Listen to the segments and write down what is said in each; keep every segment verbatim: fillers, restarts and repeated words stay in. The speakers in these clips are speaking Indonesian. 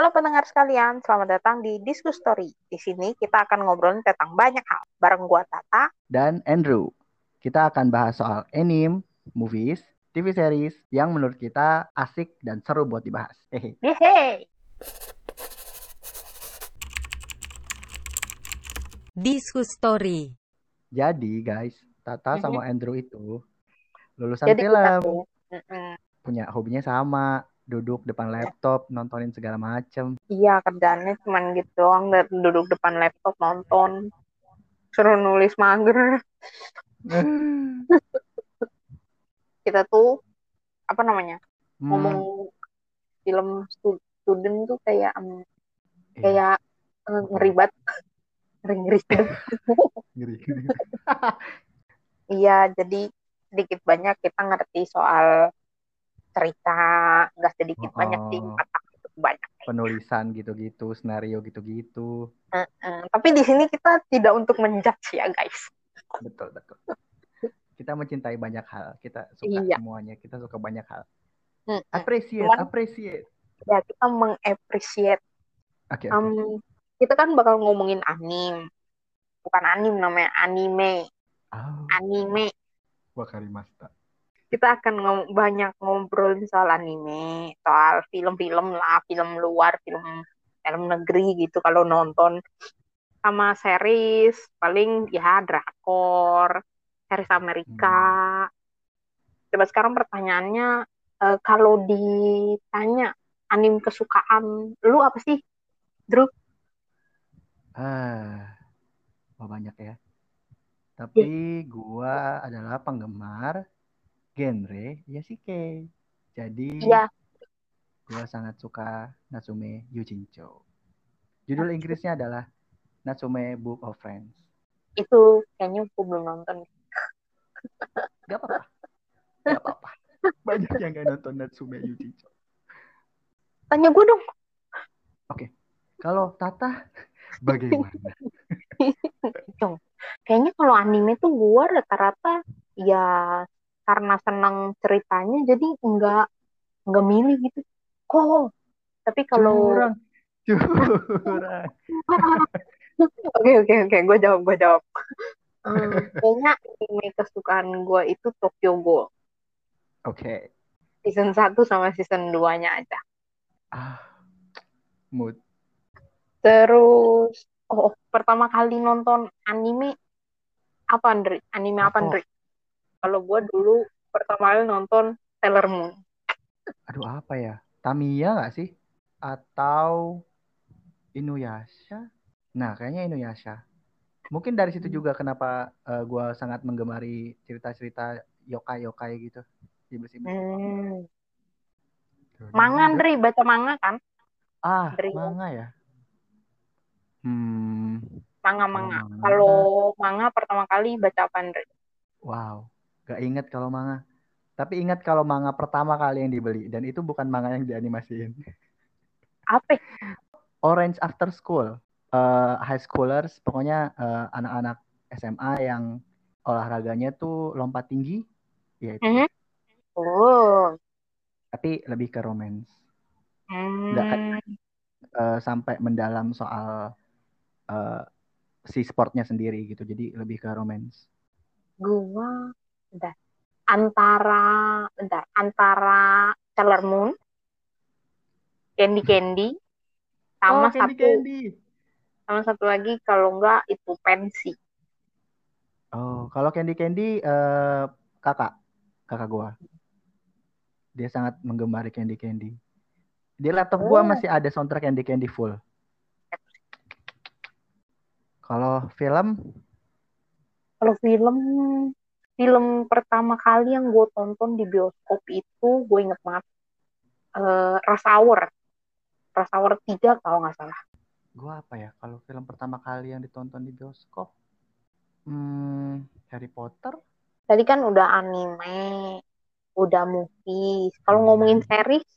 Halo pendengar sekalian, selamat datang di Diskus Story. Di sini kita akan ngobrolin tentang banyak hal. Bareng gua Tata. Dan Andrew. Kita akan bahas soal anime, movies, T V series yang menurut kita asik dan seru buat dibahas. Hehe. Yeay! Diskus Story. Jadi guys, Tata Mhm. sama Andrew itu lulusan Jadi kita film, tuh, mm-mm. punya hobinya sama, duduk depan laptop, nontonin segala macem. Iya kerjaannya cuman gitu doang, dan duduk depan laptop nonton, suruh nulis mager. Kita tuh apa namanya Hmm, ngomong film stu- student tuh kayak em, iya, kayak eh, apa ngeri ya? banget, ngeri ngeri sedep. Ngeri. Iya, jadi sedikit banyak kita ngerti soal cerita, nggak sedikit banyak sih, Oh, empat itu banyak. penulisan gitu-gitu, skenario gitu-gitu. Mm-mm. Tapi di sini kita tidak untuk menjudge ya guys. Betul, betul. Kita mencintai banyak hal, kita suka Iya. semuanya, kita suka banyak hal. Mm-mm. Appreciate, Cuman appreciate. ya kita mengapresiasi. Oke, oke. Um, kita kan bakal ngomongin anim, bukan anim namanya anime, Oh, anime. Wakarimashita. Kita akan ngom- banyak ngobrolin soal anime, soal film-film lah, film luar, film film negeri gitu. Kalau nonton sama series paling ya drakor, series Amerika. Hmm. Coba sekarang pertanyaannya, eh, kalau ditanya anime kesukaan lu apa sih, Drew? Ah, oh banyak ya. Ya, Tapi gua adalah penggemar genre Yashike. Jadi iya, gua sangat suka Natsume Yujincho. Judul Inggrisnya adalah Natsume Book of Friends. itu kayaknya aku belum nonton. Gak apa-apa, gak apa-apa. Banyak yang gak nonton Natsume Yujincho. Tanya gue dong. Oke, kalau Tata bagaimana? Dong. Kayaknya kalau anime tuh gue rata-rata ya karena senang ceritanya jadi enggak enggak milih gitu. Kok. Tapi kalau Curang, curang. oke oke oke, gue jawab gue jawab. Hmm, kayaknya anime kesukaan gue itu Tokyo Ghoul. Oke. Season satu sama season dua-nya aja. Ah, mood. Terus, oh, pertama kali nonton anime apa, Andri? Anime apa, Apa? Andri? Kalau gue dulu pertama kali nonton Sailor Moon. Aduh apa ya? Tamiya nggak sih? Atau Inuyasha? Nah, kayaknya Inuyasha. Mungkin dari situ juga kenapa eh, gua sangat menggemari cerita-cerita yokai-yokai gitu. Iblis-iblis gitu. Hmm. Manga, Dun-dun-dun. Andri, baca manga kan? Ah, Andri, manga ya? Hmm, kalau manga-manga. Kalau manga, manga pertama kali baca apa, Andri? wow. Gak inget kalau manga. Tapi ingat kalau manga pertama kali yang dibeli. Dan itu bukan manga yang dianimasiin. Apa? Orange After School. Eh, high schoolers, pokoknya eh, anak-anak S M A yang olahraganya tuh lompat tinggi. Ya itu deh. Mhm. Oh. Tapi lebih ke romance. Nggak kayak Hmm. eh, sampai mendalam soal eh, si sportnya sendiri gitu. Jadi lebih ke romance. Gua, bentar. Antara, bentar. Antara Sailor Moon, Candy Candy, sama Oh, Candy satu, Candy. sama satu lagi kalau enggak itu pensi. Oh, kalau Candy Candy eh, kakak, kakak gua. Dia sangat menggemari Candy Candy. Di laptop gua Oh. masih ada soundtrack Candy Candy full. Kalau film, Kalau film, film pertama kali yang gue tonton di bioskop itu, gue inget banget, eh Rush Hour. Rush Hour tiga kalau nggak salah. gua apa ya? Kalau film pertama kali yang ditonton di bioskop, hmm, Harry Potter. Tadi kan udah anime, udah movie. Kalau ngomongin Hmm. series,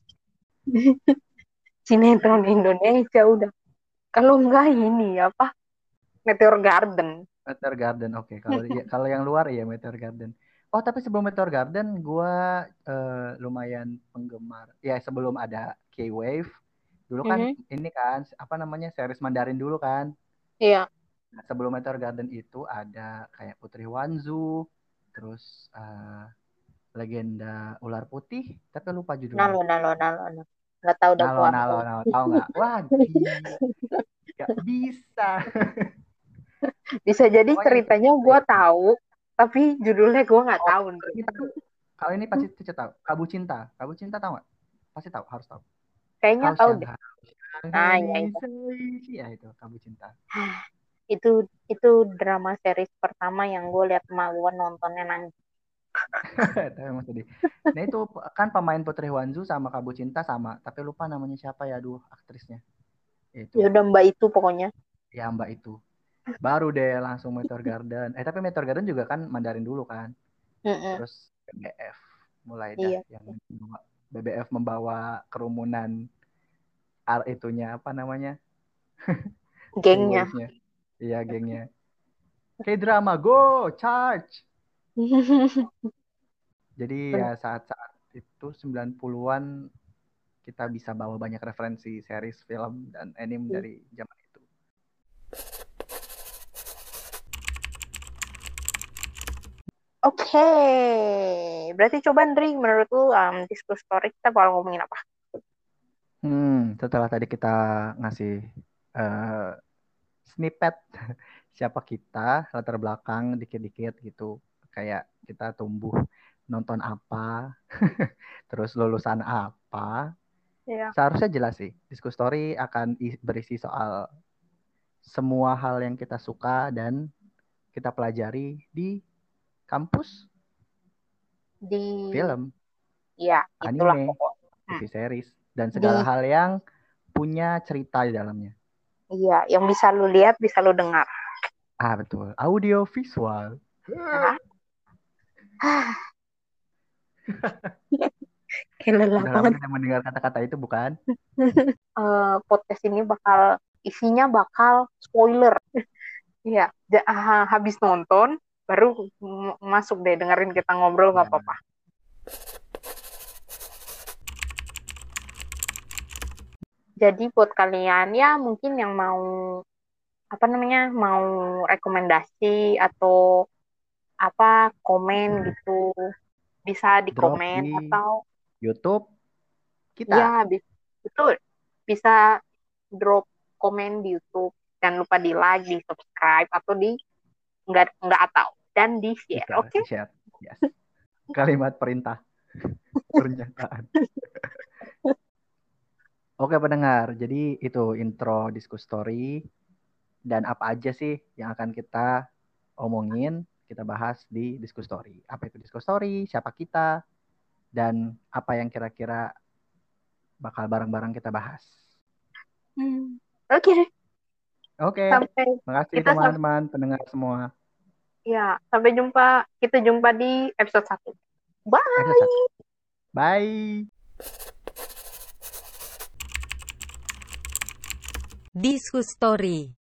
sinetron Indonesia udah. Kalau nggak ini apa, Meteor Garden. Meteor Garden, oke. Kalau ya, kalau yang luar ya Meteor Garden. Oh, tapi sebelum Meteor Garden, gua eh, lumayan penggemar. Ya, sebelum ada K-Wave, Dulu kan Mhm. ini kan apa namanya series Mandarin dulu kan. Iya. Nah, sebelum Meteor Garden itu ada kayak Putri Wanzu, terus eh, Legenda Ular Putih, tapi lupa judulnya. Nalo, nalo, nalo, nalo. Nggak tahu dah Nalo, gua. nalo, nalo, tahu nggak? Wah, gila, nggak bisa. Bisa jadi Pokoknya itu. ceritanya gua tahu, tapi judulnya gua nggak Oh, tahu, Ndre. ini tahu. Kalau ini pasti Cica tahu. Kabu Cinta. Kabu Cinta tahu nggak? Pasti tahu, harus tahu. Kayaknya Hao tahu Xiang deh. Hao Xiang Nah, Hei ya Ni itu. Sei. Ya itu Kabu Cinta. Itu itu drama series pertama yang gue lihat sama gue nontonnya nangis. Tapi emang sedih. Nah itu kan pemain Putri Wanzu sama Kabu Cinta sama, tapi lupa namanya siapa ya, aduh aktrisnya. Itu. Ya udah Mbak itu pokoknya. Ya Mbak itu. Baru deh langsung Meteor Garden. Eh tapi Meteor Garden juga kan Mandarin dulu kan. Mm-mm. Terus B B F mulai dah Iya. yang B B F membawa kerumunan ar itunya apa namanya? Gengnya. Fanboysnya. Iya gengnya. Kayak drama go charge. Jadi ya saat-saat itu sembilan puluhan-an kita bisa bawa banyak referensi series, film, dan anime dari zaman itu. Oke, berarti coba Ndri, menurut lu um, diskus story kita bakal ngomongin apa? Hmm, setelah tadi kita ngasih uh, snippet siapa kita, latar belakang dikit-dikit gitu. Kayak kita tumbuh nonton apa, terus lulusan apa. Iya. Seharusnya jelas sih, Diskus Story akan berisi soal semua hal yang kita suka dan kita pelajari di kampus, Di, film, ya itulah anime, pokoknya. T V series, dan Di, segala hal yang punya cerita di dalamnya. iya, yang bisa lu lihat, bisa lu dengar. Ah, betul. Audio visual. Nah. Kayak lelah Sudah lama banget. tidak mendengar kata-kata itu, bukan? uh, podcast ini bakal isinya bakal spoiler. Iya, ja- ha- habis nonton baru m- masuk deh dengerin kita ngobrol nggak Ya. apa-apa. Jadi buat kalian ya mungkin yang mau apa namanya mau rekomendasi atau apa komen gitu bisa di Drop komen di atau YouTube ya kita. bi- betul bisa drop komen di YouTube. Jangan lupa di like, di subscribe atau di nggak nggak atau dan di share, Bisa oke? Okay? di-share. Yes. Kalimat perintah. Pernyataan. Oke pendengar, jadi itu intro Diskus Story. Dan apa aja sih yang akan kita omongin, kita bahas di Diskus Story. Apa itu Diskus Story, siapa kita, dan apa yang kira-kira bakal bareng-bareng kita bahas. Hmm. Oke, okay. Oke, Sampai makasih kita sam- teman-teman pendengar semua. ya sampai jumpa kita jumpa di episode satu. Bye. Episode satu. Bye. Diskus Story.